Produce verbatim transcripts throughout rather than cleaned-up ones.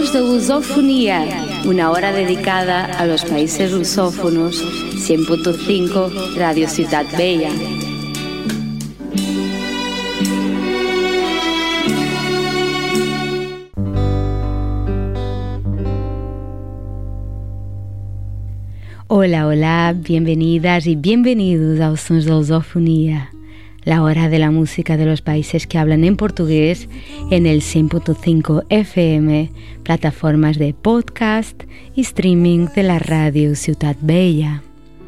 Sons de Lusofonía, una hora dedicada a los países lusófonos, cien punto cinco Radio Ciudad Bella. Hola, hola, bienvenidas y bienvenidos a Sons de Lusofonía, la hora de la música de los países que hablan en portugués en el cien punto cinco F M, plataformas de podcast y streaming de la Radio Ciudad Bella.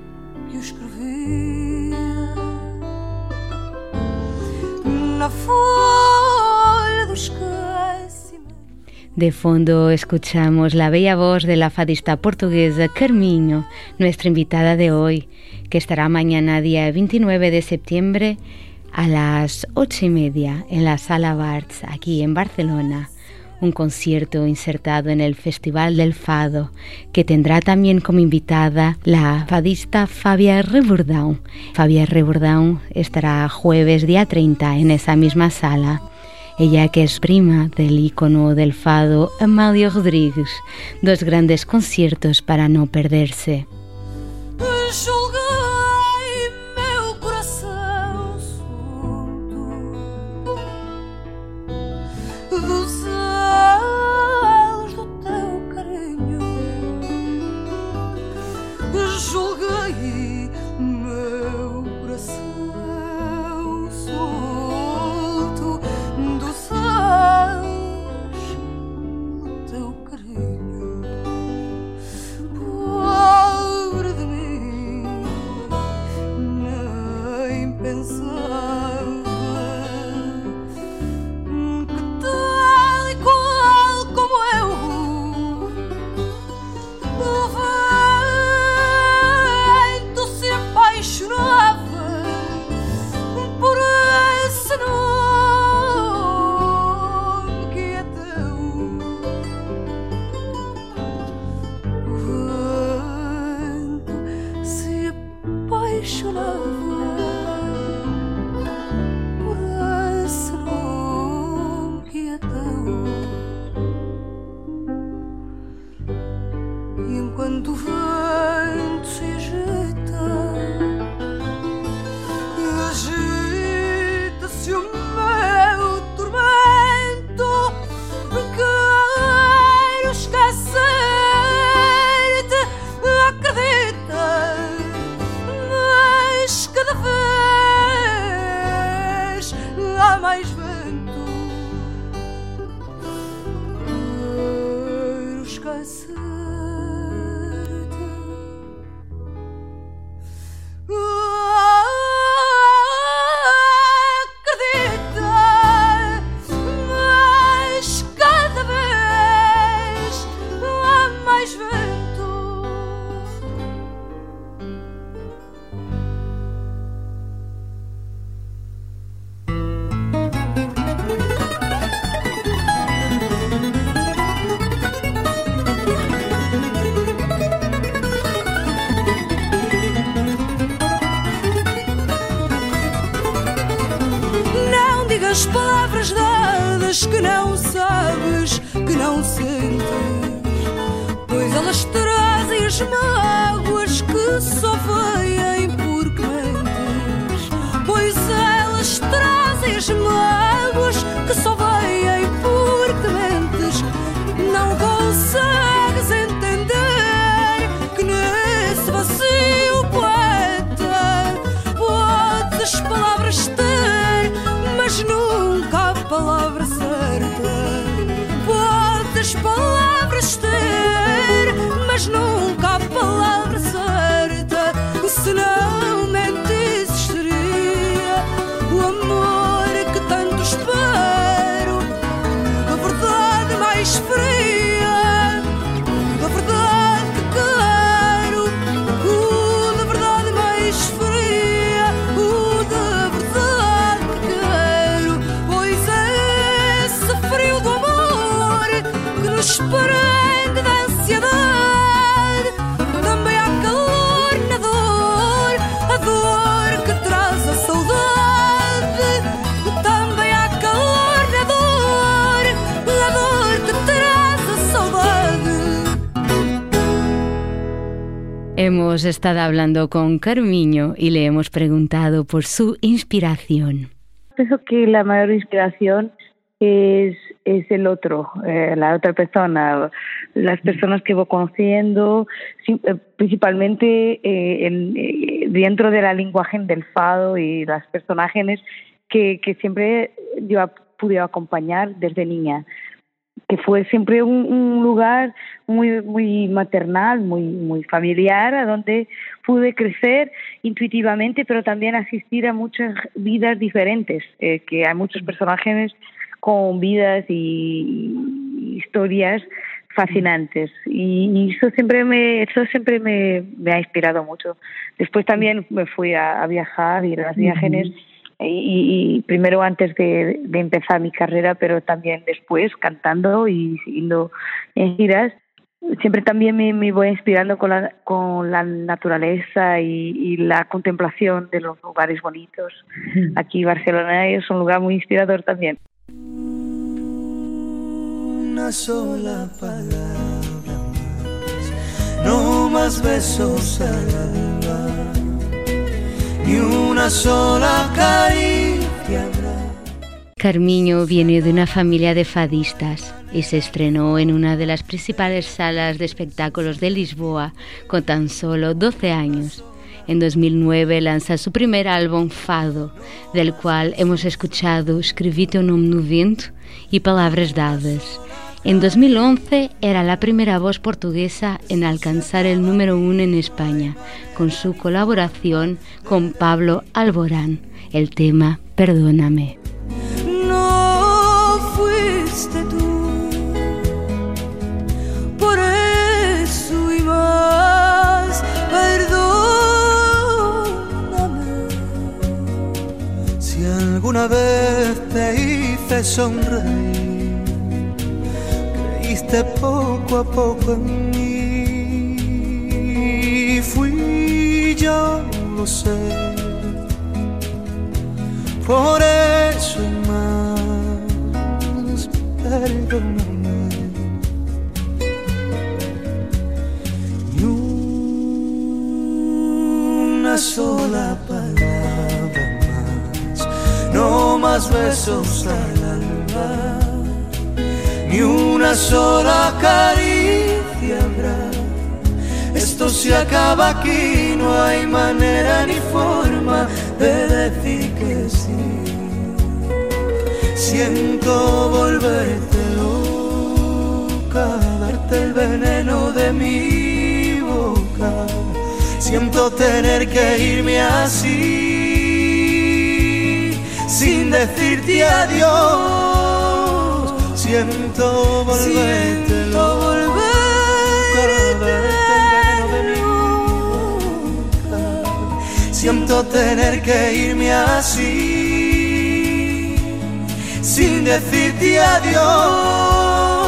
De fondo escuchamos la bella voz de la fadista portuguesa Carminho, nuestra invitada de hoy, que estará mañana día veintinueve de septiembre a las ocho y media en la Sala Barts, aquí en Barcelona. Un concierto insertado en el Festival del Fado, que tendrá también como invitada la fadista Fabia Rebordão. Fabia Rebordão estará jueves día treinta en esa misma sala. Ella que es prima del ícono del fado Amália Rodrigues, dos grandes conciertos para no perderse. As palavras dadas que não sabes, que não sentes, pois elas trazem as mágoas que só vêm porque mentes, pois elas trazem as mágoas que só vêm porque mentes. Não consegues entender que nesse vazio poeta podes as palavras ter, mas nunca a palavra certa. Podes palavras ter, mas nunca a palavra certa. Se não mentisse seria o amor que tanto espero, a verdade mais fria, a verdade que quero, o da verdade mais fria, o da verdade que quero. Pois é esse frio do amor que nos prende da ansiedade. Também há calor na dor, a dor que traz a saudade. Também há calor na dor, a dor que traz a saudade. Hemos estado hablando con Carmiño y le hemos preguntado por su inspiración. Pienso que la mayor inspiración es, es el otro, eh, la otra persona, las personas que voy conociendo, principalmente eh, en, eh, dentro de la lenguaje del fado y las personajes que, que siempre yo pude acompañar desde niña, que fue siempre un, un lugar muy muy maternal, muy muy familiar, a donde pude crecer intuitivamente, pero también asistir a muchas vidas diferentes, eh, que hay muchos personajes con vidas y historias fascinantes, y, y eso siempre me eso siempre me, me ha inspirado mucho. Después también me fui a, a viajar, ir a las viajes. Uh-huh. Y, y primero antes de, de empezar mi carrera, pero también después cantando y siguiendo en giras. Siempre también me, me voy inspirando con la, con la naturaleza y, y la contemplación de los lugares bonitos. Aquí Barcelona es un lugar muy inspirador también. Una sola palabra más, no más besos al alba, ni una sola caricia habrá. Carmiño viene de una familia de fadistas y se estrenó en una de las principales salas de espectáculos de Lisboa con tan solo doce años. En dos mil nueve lanza su primer álbum Fado, del cual hemos escuchado Escrevi teu nome no vento y Palabras dadas. En dos mil once era la primera voz portuguesa en alcanzar el número uno en España, con su colaboración con Pablo Alborán, el tema Perdóname. No fuiste tú, por eso y más, perdóname. Si alguna vez te hice sonreír, poco a poco en mí, fui yo, lo sé, por eso y más, perdóname. Ni una sola palabra más, no más besos al alba, ni una sola caricia habrá. Esto se acaba aquí, no hay manera ni forma de decir que sí. Siento volverte loca, darte el veneno de mi boca. Siento tener que irme así, sin decirte adiós. Siento volverte, siento volverte loca. Siento tener que irme así, sin decirte adiós.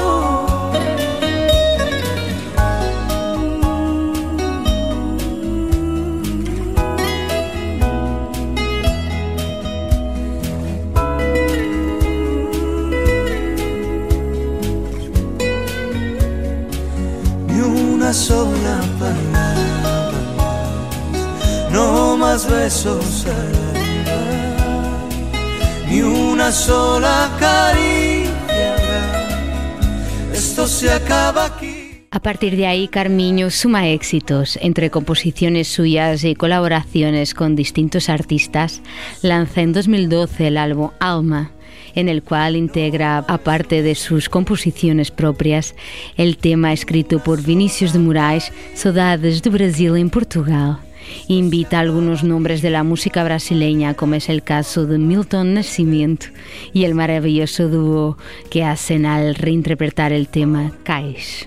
Sola palabra más, no más besos al alba, ni una sola caricia habrá. Esto se acaba aquí. A partir de ahí, Carmiño suma éxitos entre composiciones suyas y colaboraciones con distintos artistas. Lanza en dos mil doce el álbum Alma, en el cual integra, aparte de sus composiciones propias, el tema escrito por Vinícius de Moraes, Saudades do Brasil en Portugal. Invita a algunos nombres de la música brasileña, como es el caso de Milton Nascimento y el maravilloso dúo que hacen al reinterpretar el tema Cais.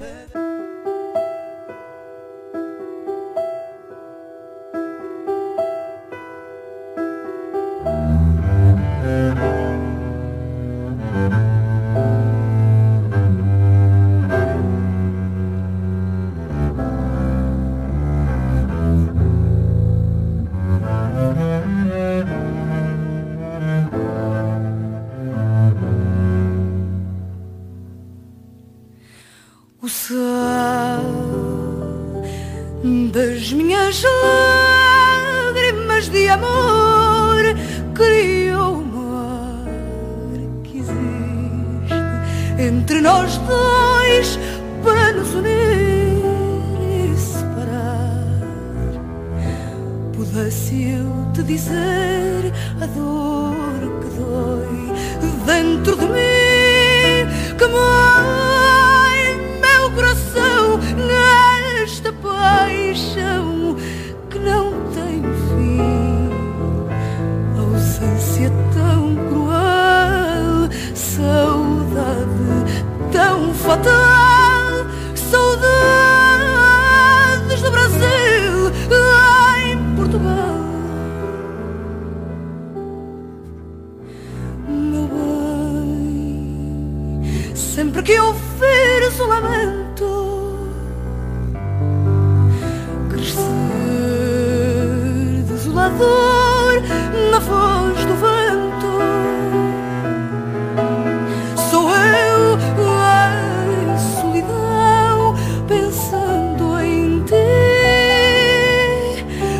das minhas lágrimas de amor, criou uma ar que existe entre nós dois para nos unir e separar. Pudesse eu te dizer a dor que dói dentro de mim, que mói meu coração nesta paixão que não tem fim. Ausência tão cruel, saudade tão fatal, saudades do Brasil em Portugal. Meu bem, sempre que ouvires o lamento crescer desolador na voz do vento, sou eu em solidão pensando em ti,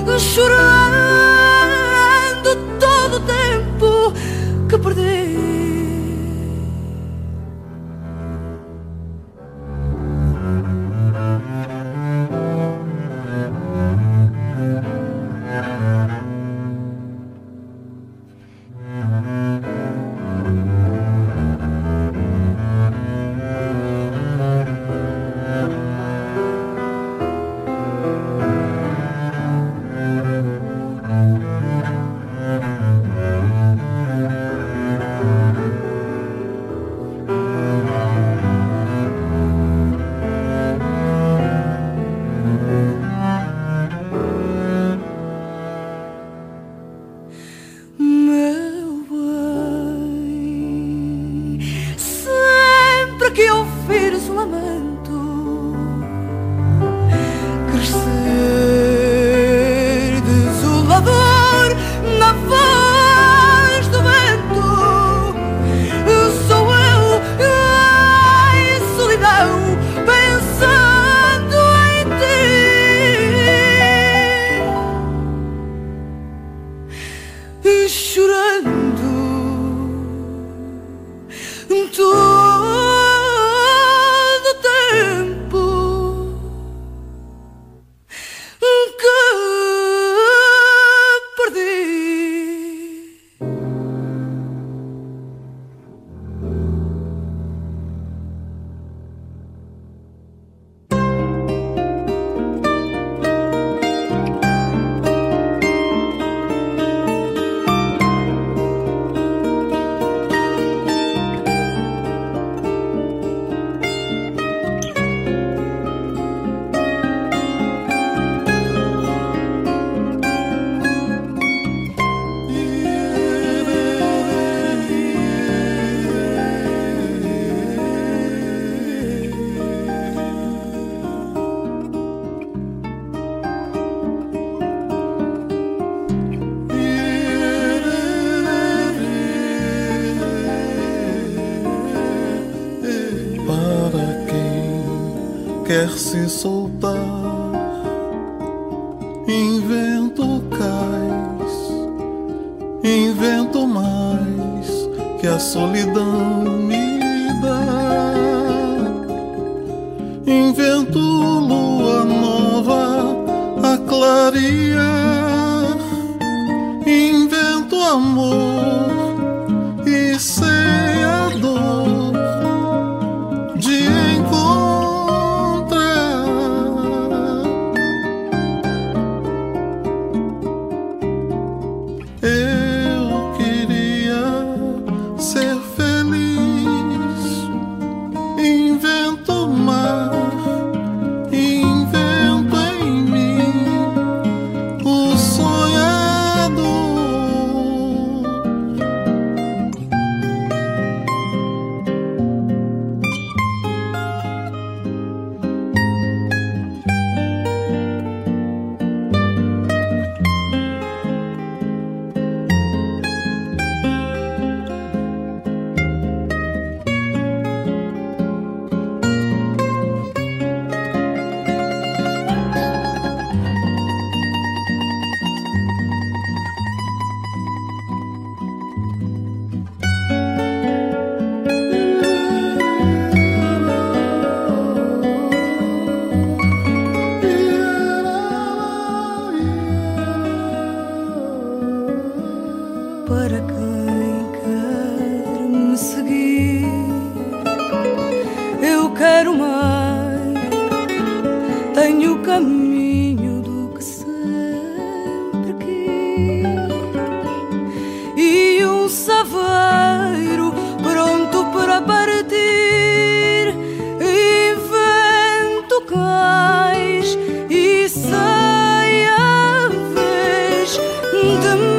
chorando todo o tempo que perdi. Quer se soltar, invento cais, invento mais que a solidão me dá. Invento lua nova a clarear, invento amor e sei a dor de encontrar. Eu queria ser feliz quero mais. Tenho o caminho do que sempre quis e um saveiro pronto para partir. E vento cais e sai a vez de me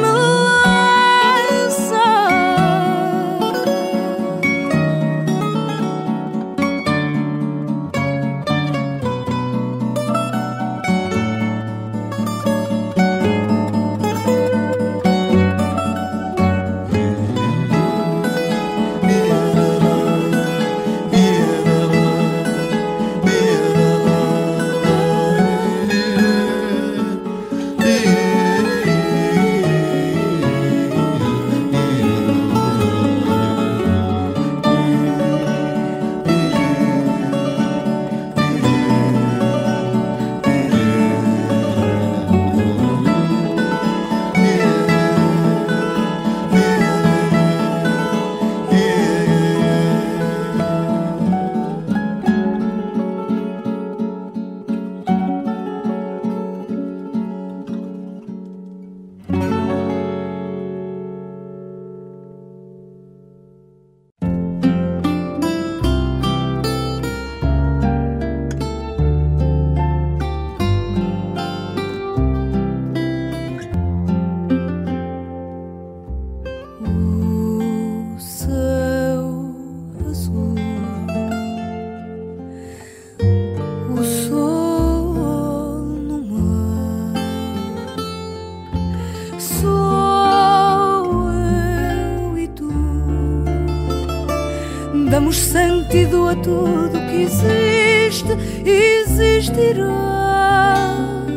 damos sentido a tudo que existe e existirá.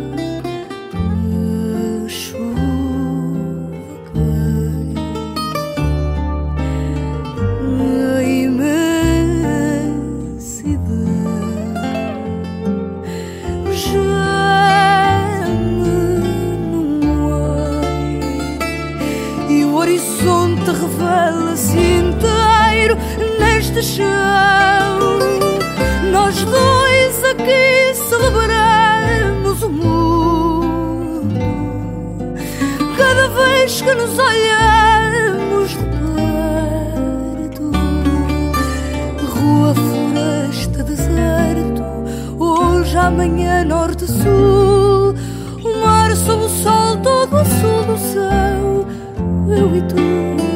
A chuva cai, a imensidão geme no ar e o horizonte revela-se inteiro neste chão. Nós dois aqui celebramos o mundo cada vez que nos olhamos de perto. Rua, floresta, deserto, hoje, amanhã, norte, sul, o mar sob o sol todo azul do céu, eu e tu.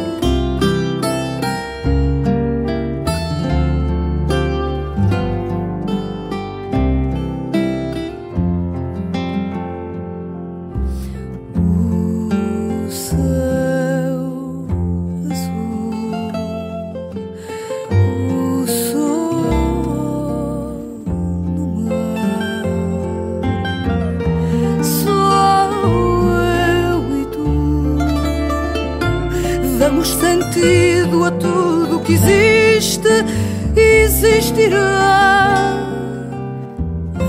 Damos sentido a tudo que existe e existirá. A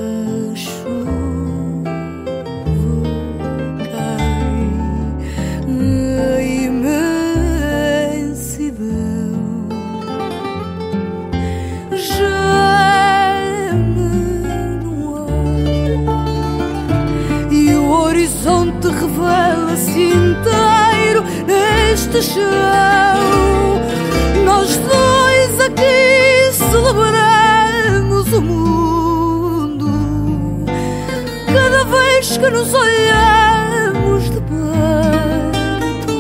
chuva cai, a imensidão geme no ar e o horizonte revela-se inteiro neste chão. Nós dois aqui celebramos o mundo cada vez que nos olhamos de perto.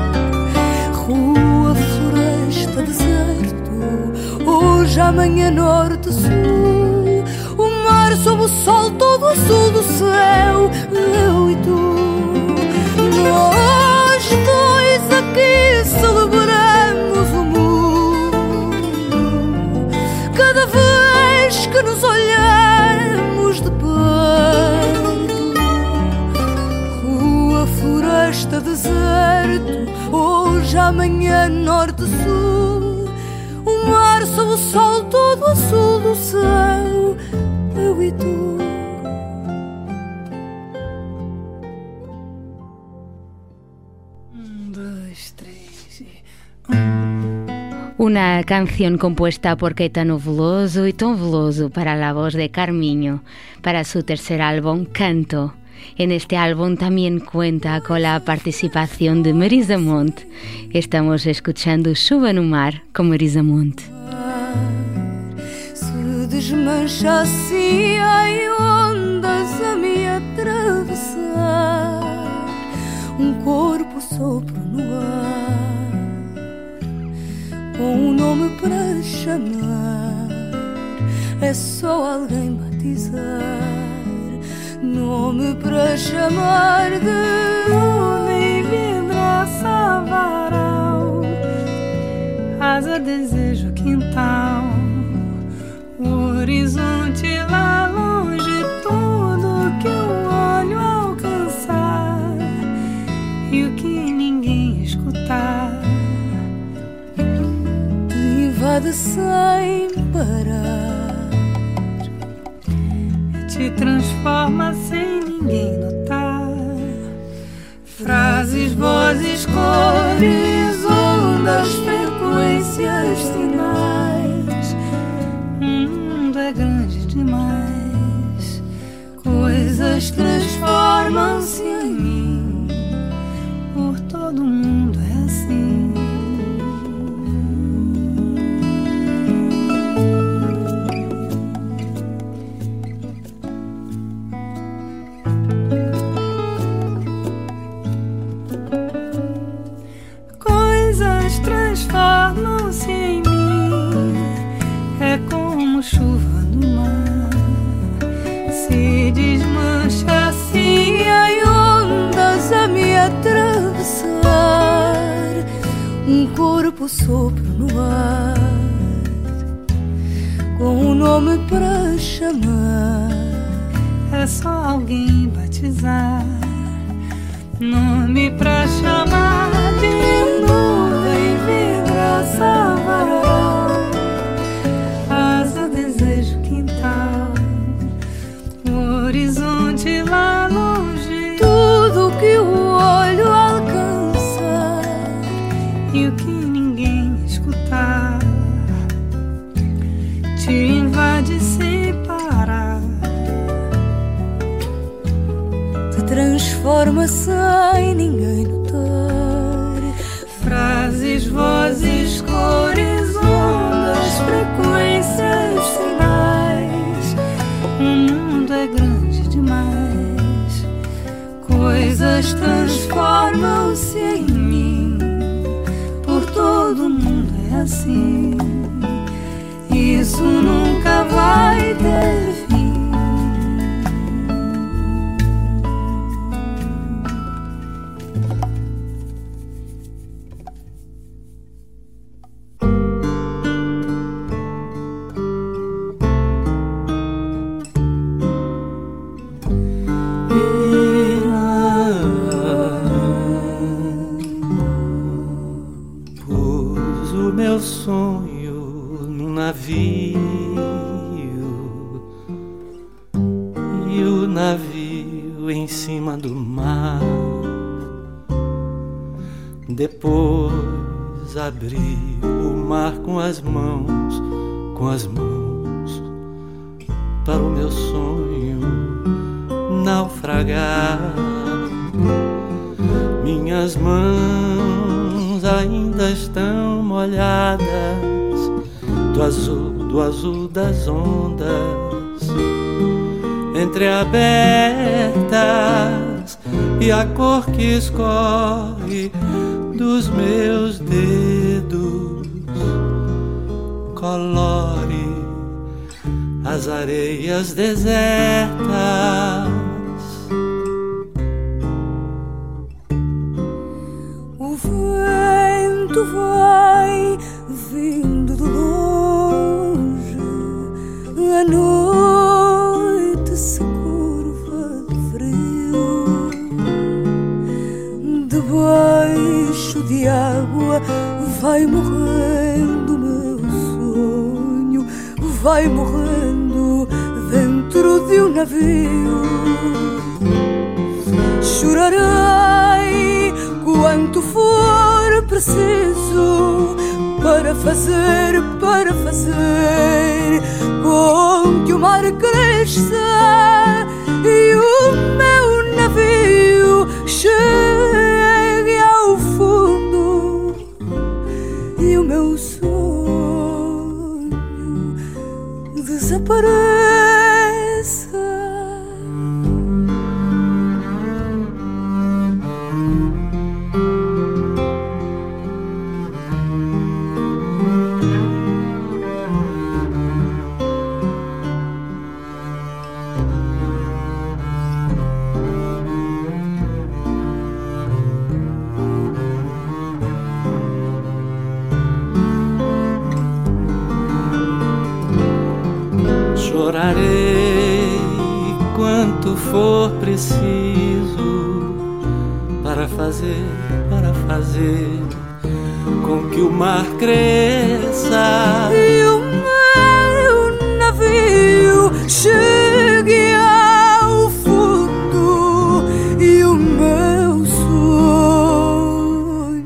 Rua, floresta, deserto, hoje, amanhã, norte, sul, o mar sob o sol todo azul do céu, eu e tu. Nós dois aqui celebramos o mundo cada vez que nos olhamos de perto. Rua, floresta, deserto, hoje, amanhã, norte, sul, o mar sob o sol todo azul do céu, eu e tu. una canción compuesta por Caetano Veloso y Tom Veloso para la voz de Carmiño, para su tercer álbum, Canto. En este álbum también cuenta con la participación de Marisa Monte. Estamos escuchando Chuva no Mar con Marisa Monte. Se desmancha assim em ondas a me atravessar, um corpo sopro no ar, com um nome para chamar, é só alguém batizar. Nome para chamar de homem, vidraça, varal, asa, desejo, quintal, o horizonte lá longe, tudo que o olho alcançar e o que ninguém escutar te invade sem parar, te transforma sem ninguém notar. Frases, vozes, cores, ondas, frequências, sinais. O mundo é grande demais. Coisas transformam-se em mim. Por todo mundo é assim. Transformam-se em mim, é como chuva no mar, se desmancha assim em ondas a me atravessar, um corpo sopro no ar, com um nome para chamar, é só alguém batizar, nome pra chamar de nuvem, vidraça, varal, asa, desejo, quintal, o horizonte lá longe, tudo que o olho alcançar e o que ninguém escutar te invade sem parar, te transforma sem ninguém notar. Frases, vozes, cores, ondas, frequências, sinais. O mundo é grande demais. Coisas transformam-se em mim. Por todo mundo é assim. Isso nunca vai ter fim. Depois abri o mar com as mãos, com as mãos, para o meu sonho naufragar. Minhas mãos ainda estão molhadas do azul, do azul das ondas, entreabertas, e a cor que escorre dos meus dedos colore as areias desertas. O vento vai vindo de longe, a noite se curva de frio, debaixo de água vai morrendo meu sonho, vai morrendo dentro de um navio. Chorarei quanto for preciso para fazer, para fazer com que o mar cresça e o meu navio chegue ao fundo e o meu sonho desapareça. Chorarei quanto for preciso para fazer, para fazer com que o mar cresça e o meu navio chegue ao fundo e o meu sonho.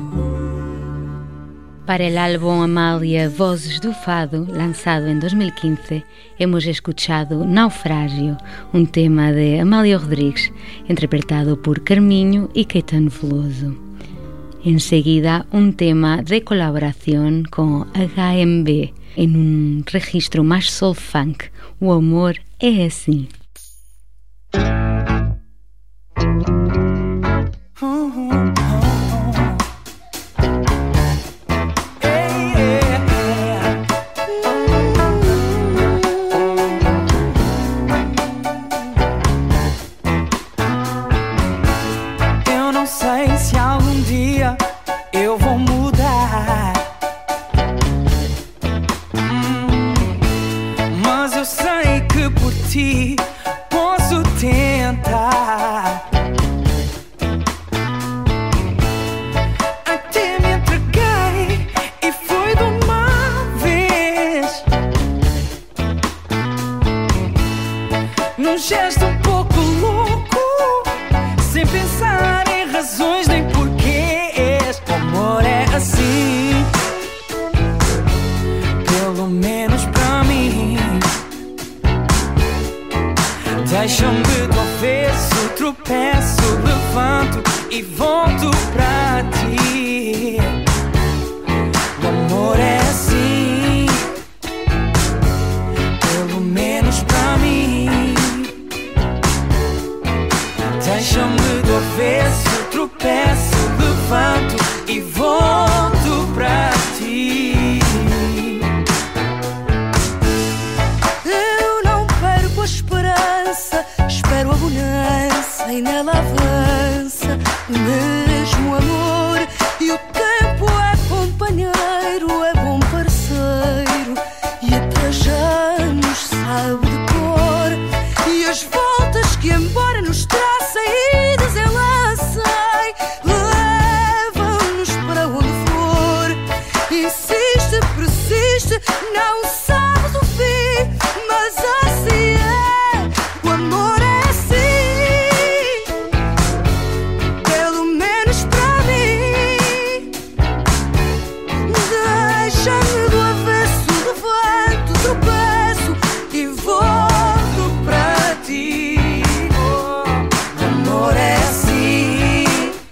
Para el álbum Amália Vozes do Fado, lanzado en dos mil quince, hemos escuchado Naufragio, un tema de Amália Rodrigues, interpretado por Carminho y Caetano Veloso. Enseguida, un tema de colaboración con H M B, en un registro más soul funk, O Amor é Assim. Deixa-me do avesso, tropeço, levanto e volto pra ti. O amor é assim, pelo menos pra mim. Deixa-me do avesso, tropeço, levanto e volto pra ti. Eu não perco a esperança, espero a bonança e nela avança o mesmo amor. E o tempo é companheiro, é bom parceiro e até já nos sabe de cor. E as voltas que embora nos tracem e desenlacem levam-nos para onde for. Insiste, persiste, não sabes o fim, mas assim é. O amor é assim, pelo menos pra mim. Deixa-me do avesso, levanto, tropeço e volto pra ti. O amor é assim,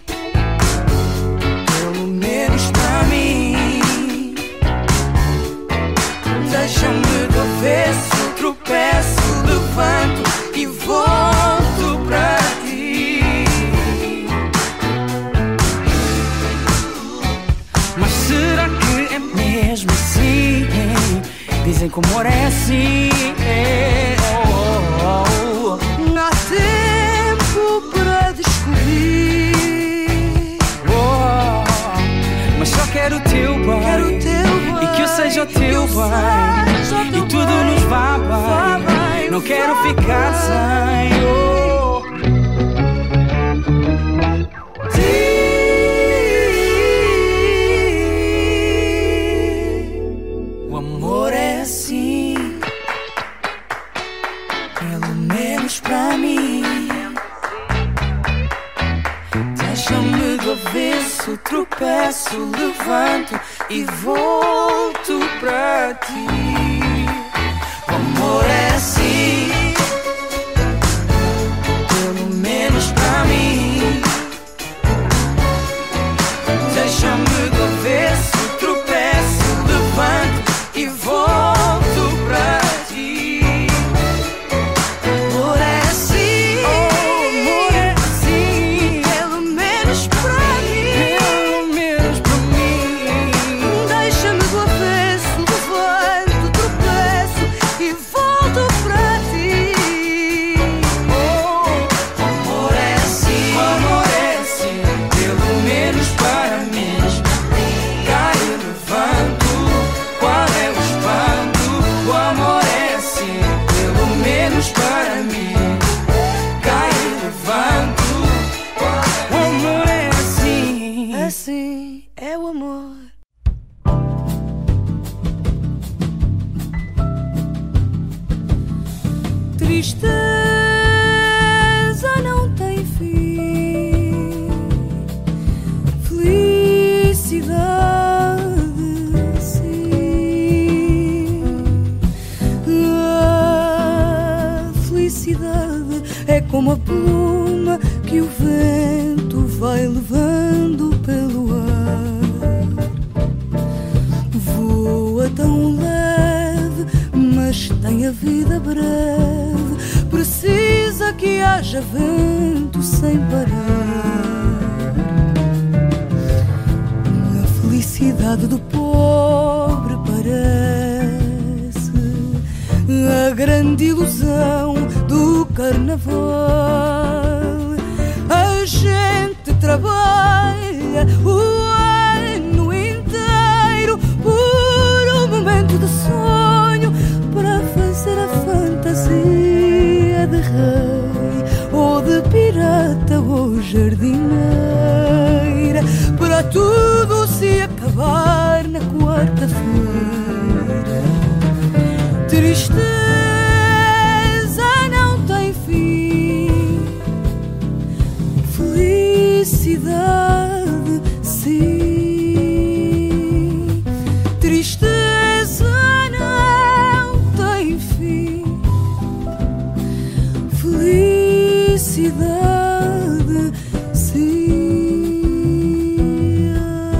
pelo menos pra mim. Deixa-me do avesso, tropeço, levanto e volto pra ti. Mas será que é mesmo assim? Dizem que o amor é assim. Oh, oh, oh. Há tempo para descobrir. Oh, mas só quero o teu bem, Quero o teu e que eu seja o bem, teu que eu bem, seja o e teu tudo bem, nos vá vá bem. bem, Não vá quero ficar bem. sem. Oh. O amor é assim, pelo menos pra mim. Deixa-me do avesso, tropeço, tropeço, levanto e volto pra ti. O amor é assim, pelo menos pra mim. Deixa-me do avesso, tropeço, levanto e volto pra ti. Amor é assim, oh, amor é assim, pelo menos pra mim, pelo menos pra mim. Deixa-me do avesso, levanto, tropeço e volto pra ti. Oh, amor é assim, amor é assim, pelo menos para mim. Caio, levanto, qual é o espanto? O amor é assim, pelo menos para mim. Caio, levanto, o amor é assim. Assim é o amor. Tristeza não tem fim, felicidade sim. A felicidade é como a pluma que o vento vai levando pelo ar. Voa tão leve, mas tem a vida breve. Precisa que haja vento sem parar. A felicidade do pobre parece a grande ilusão do carnaval. A gente trabalha o ano inteiro por um momento de sonho, para fazer a fantasia de rei ou de pirata ou jardineira, para tudo se acabar na quarta-feira. Tristeza não tem fim, felicidade sim. Tristeza não tem fim, felicidade sim.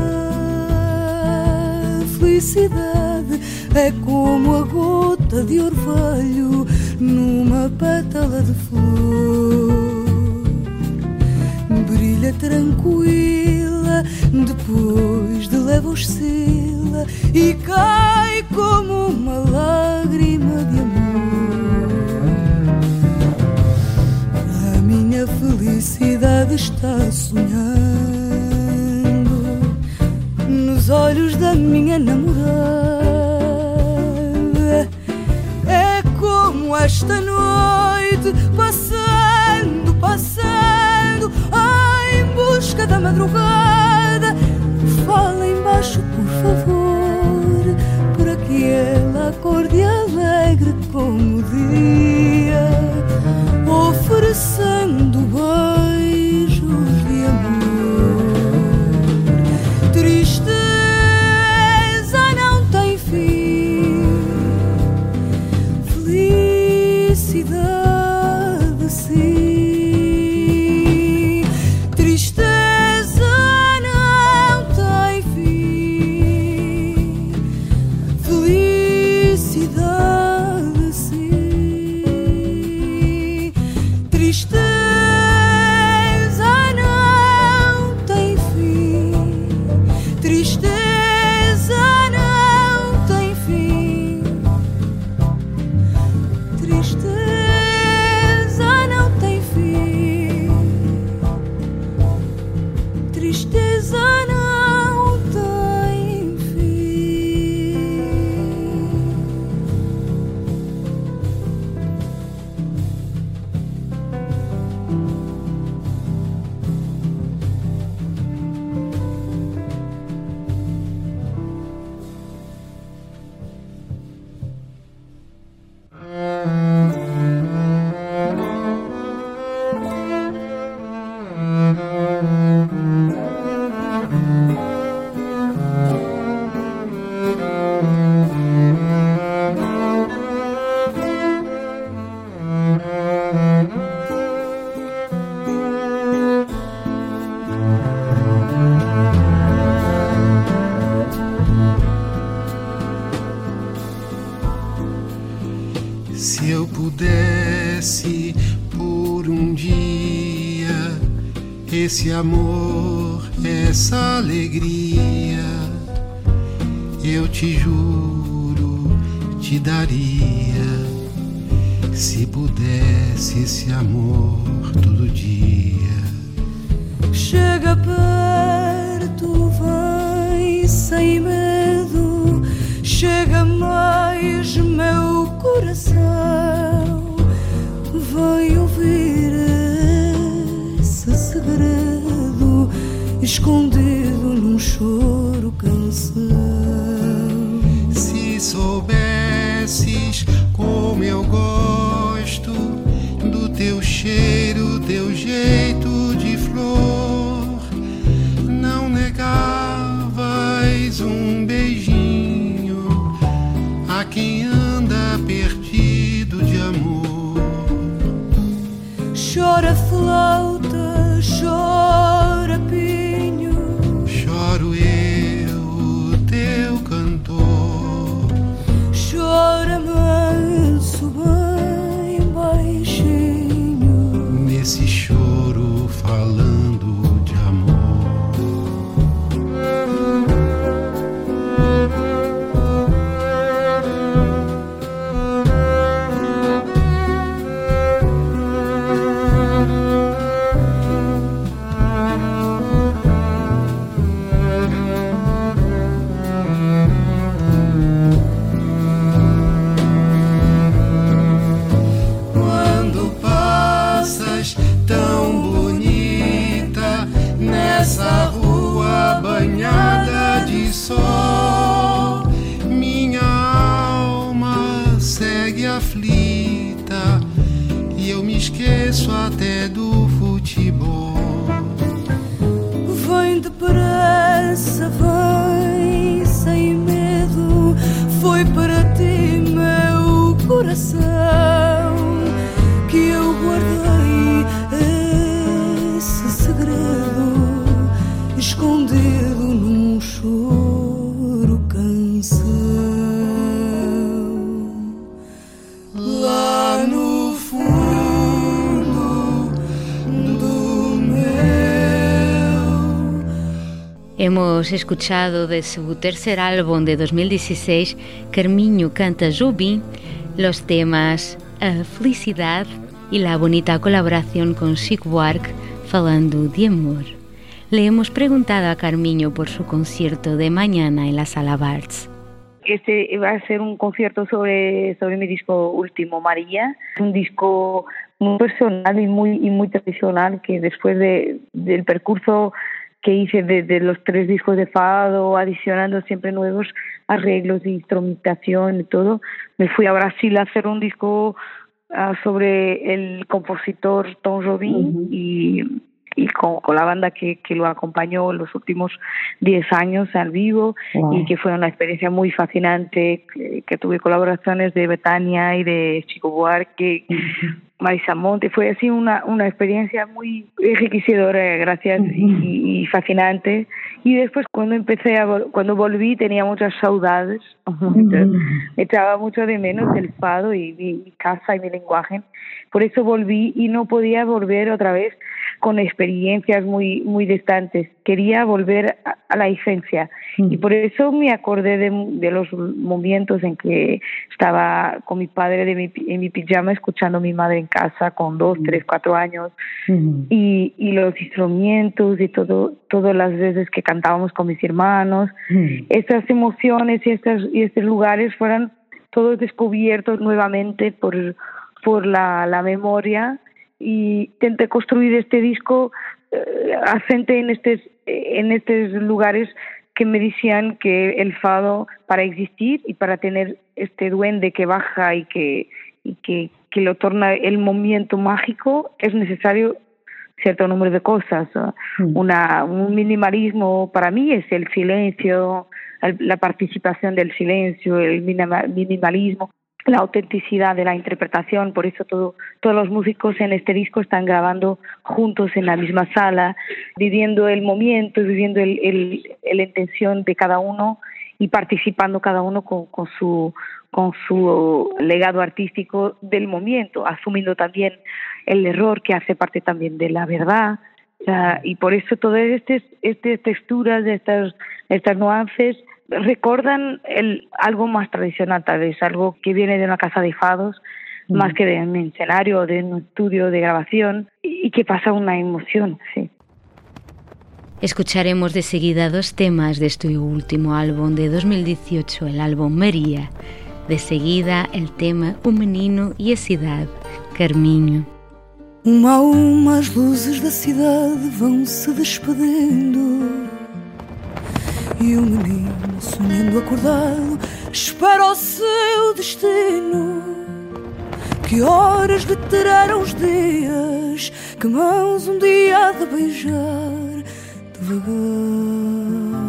A felicidade é como a gota de orvalho numa pétala de flor. Brilha tranquila, depois de leve oscila e cai como uma lágrima de amor. A minha felicidade está sonhando nos olhos da minha namorada. É como esta noite, passando, passando, em busca da madrugada. Fala embaixo, por favor, para que ela acorde alegre como o dia, oferecendo beijos de amor. Tristeza não tem fim, felicidade sim. Tristeza não tem fim, felicidade sim. Se eu pudesse por um dia esse amor, essa alegria, eu te juro, te daria. Se pudesse esse amor todo dia. Chega perto, vem sem medo. Chega mais, meu coração. Vem ouvir esse segredo escondido num choro canção. Se soubesses como eu gosto do teu cheiro, teu jeito de flor, não negavas um beijinho a quem anda perdido de amor. Chora flauta, chora pinho, choro eu, teu cantor. Chora manso, bem baixinho, nesse choro falando de amor. Minha alma segue aflita e eu me esqueço até do futebol. Vem depressa, vem sem medo. Foi para ti, meu coração, que eu guardei esse segredo escondido num choro canção. Lá no fundo do meu. Hemos escuchado de su tercer álbum de dos mil dieciséis, Carmiño canta Jobim, los temas A Felicidad y la bonita colaboración con Chico Buarque falando de amor. Le hemos preguntado a Carmiño por su concierto de mañana en la Sala Barts. Este va a ser un concierto sobre, sobre mi disco último, María. Es un disco muy personal y muy, y muy tradicional, que después de, del percurso que hice de, de los tres discos de fado, adicionando siempre nuevos arreglos de instrumentación y todo, me fui a Brasil a hacer un disco uh, sobre el compositor Tom Jobim. Uh-huh. y y con, con la banda que, que lo acompañó los últimos diez años al vivo. Wow. Y que fue una experiencia muy fascinante, que, que tuve colaboraciones de Betania y de Chico Buarque, uh-huh. Marisa Monte. Fue así una, una experiencia muy enriquecedora, gracias, uh-huh. y, y fascinante. Y después cuando empecé a cuando volví tenía muchas saudades, uh-huh. echaba mucho de menos el fado y mi, mi casa y mi lenguaje. Por eso volví y no podía volver otra vez con experiencias muy muy distantes. Quería volver a, a la esencia. Mm. Y por eso me acordé de, de los momentos en que estaba con mi padre de mi, en mi pijama escuchando a mi madre en casa con dos, mm. tres, cuatro años. Mm. Y, y los instrumentos y todo, todas las veces que cantábamos con mis hermanos. Mm. Estas emociones y, estas, y estos lugares fueron todos descubiertos nuevamente por, por la, la memoria. Y intenté construir este disco eh, asente en estos en estos lugares que me decían que el fado, para existir y para tener este duende que baja y que y que, que lo torna el momento mágico, es necesario cierto número de cosas. Mm. Una, un minimalismo para mí es el silencio, el, la participación del silencio, el minima, minimalismo, la autenticidad de la interpretación. Por eso todo, todos los músicos en este disco están grabando juntos en la misma sala, viviendo el momento, viviendo el, el, la intención de cada uno y participando cada uno con, con su con su legado artístico del momento, asumiendo también el error que hace parte también de la verdad. O sea, y por eso todas estas, estas texturas, estas, estas nuances recordan el, algo más tradicional, tal vez, algo que viene de una casa de fados, mm. más que de un escenario o de un estudio de grabación, y, y que pasa una emoción, sí. Escucharemos de seguida dos temas de este último álbum de dos mil dieciocho, el álbum María. De seguida el tema O Menino e a Cidade, Carminho. Uma a uma as luzes da cidade vão se despedindo, e o menino, sonhando acordado, espera o seu destino. Que horas lhe terão os dias, que mãos um dia há de beijar devagar.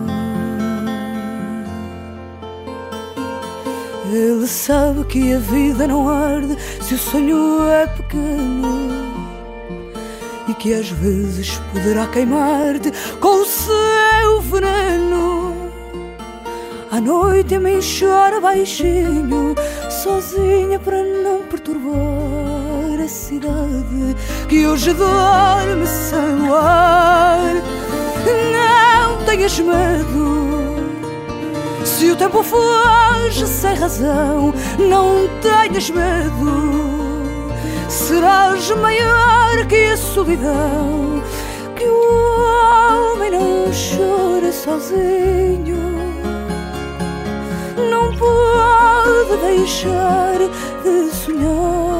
Ele sabe que a vida não arde se o sonho é pequeno, e que às vezes poderá queimar-te com o seu veneno. À noite a mim chora baixinho, sozinha para não perturbar a cidade que hoje dorme sem luar. Não tenhas medo, se o tempo foge sem razão, não tenhas medo. Serás maior que a solidão, que o homem não chora sozinho, não pode deixar de sonhar.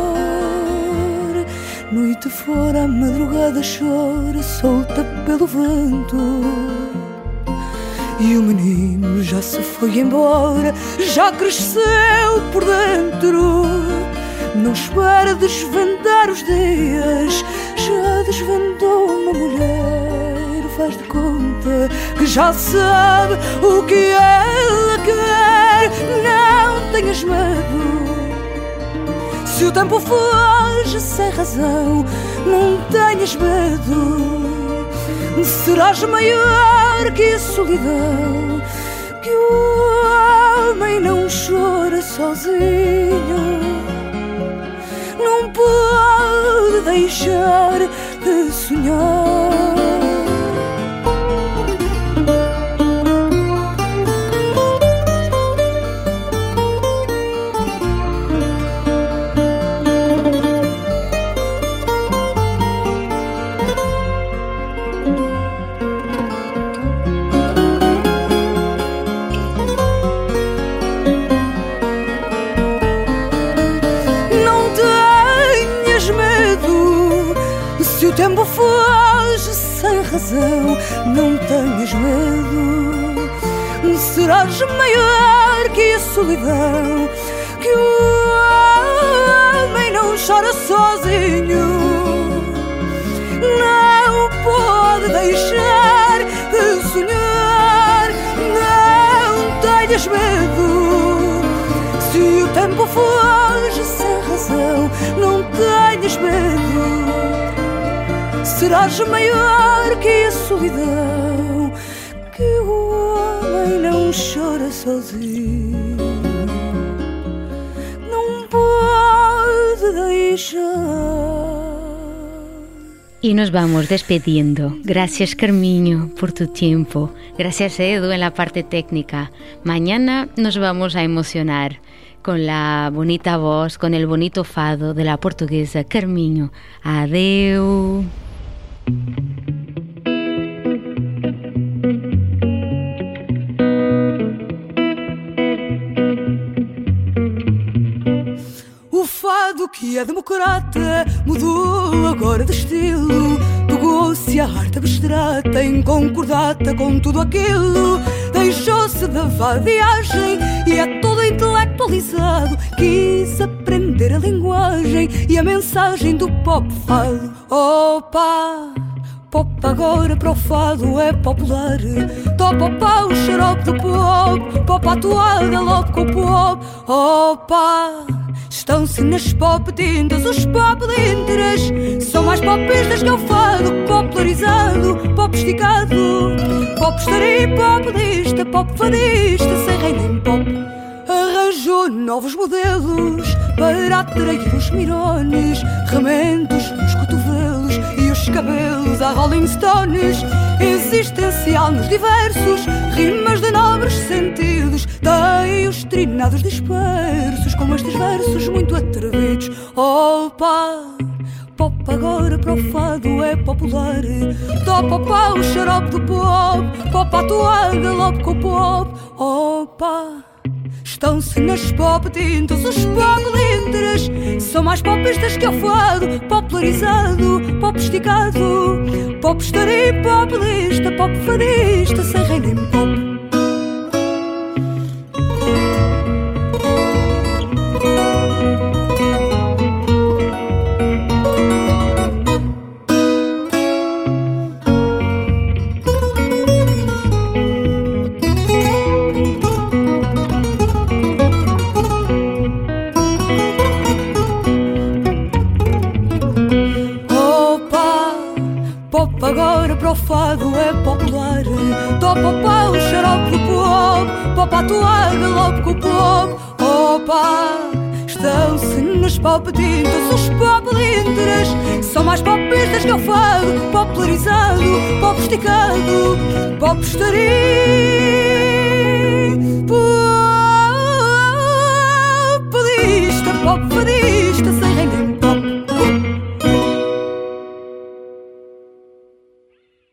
Noite fora, a madrugada chora, solta pelo vento, e o menino já se foi embora, já cresceu por dentro. Não espera desvendar os dias, já desvendou uma mulher. Faz de conta que já sabe o que ela quer. Não tenhas medo, se o tempo foge sem razão, não tenhas medo. Serás maior que a solidão, que o homem não chora sozinho, não pode deixar de sonhar. O tempo foge sem razão, não tenhas medo. Serás maior que a solidão, que o homem não chora sozinho, não pode deixar de sonhar. Não tenhas medo, se o tempo foge sem razão, não tenhas medo. Serás maior que a solidão, que o homem não chora sozinho, não pode deixar. Y nos vamos despidiendo. Gracias, Carminho, por tu tiempo. Gracias, Edu, en la parte técnica. Mañana nos vamos a emocionar con la bonita voz, con el bonito fado de la portuguesa Carminho. Adeu. O fado que é democrata mudou agora de estilo, pegou-se a arte abstrata em concordata com tudo aquilo, deixou-se da vadiagem e é todo intelectualizado. Quis aprender a linguagem e a mensagem do pop fado. Opa! Pop agora para o fado é popular. Topa o pau, o xarope do pop, pop à toada, logo com o pop. Opa! Estão-se nas pop tintas os pop linteras, são mais popistas que o fado, popularizado, pop esticado, pop estaria, pop lista, pop fadista, sem reino em pop. Arranjado Arranjo novos modelos para atrair os mirones, remendos nos cotovelos e os cabelos a Rolling Stones. Existencial nos diversos, rimas de nobres sentidos, tem os trinados dispersos, como estes versos muito atrevidos. Opa! Pop agora para o fado é popular. Topa pá o xarope do pop, pop a tua galope com o pop. Opa! Estão-se nas pop tintas os pop lindres, são mais popistas que o fado, popularizado, pop esticado, pop estarim, pop lista, pop fadista, sem rei nem pop. Agora para o fado é popular. Topa pá o xarope do pop, pop a tua galope com o pop. Opa! Estão-se nas pop tintas os pop lindres, são mais popistas que o fado, popularizado, pop esticado, pop estarim, pop lista, pop fadista.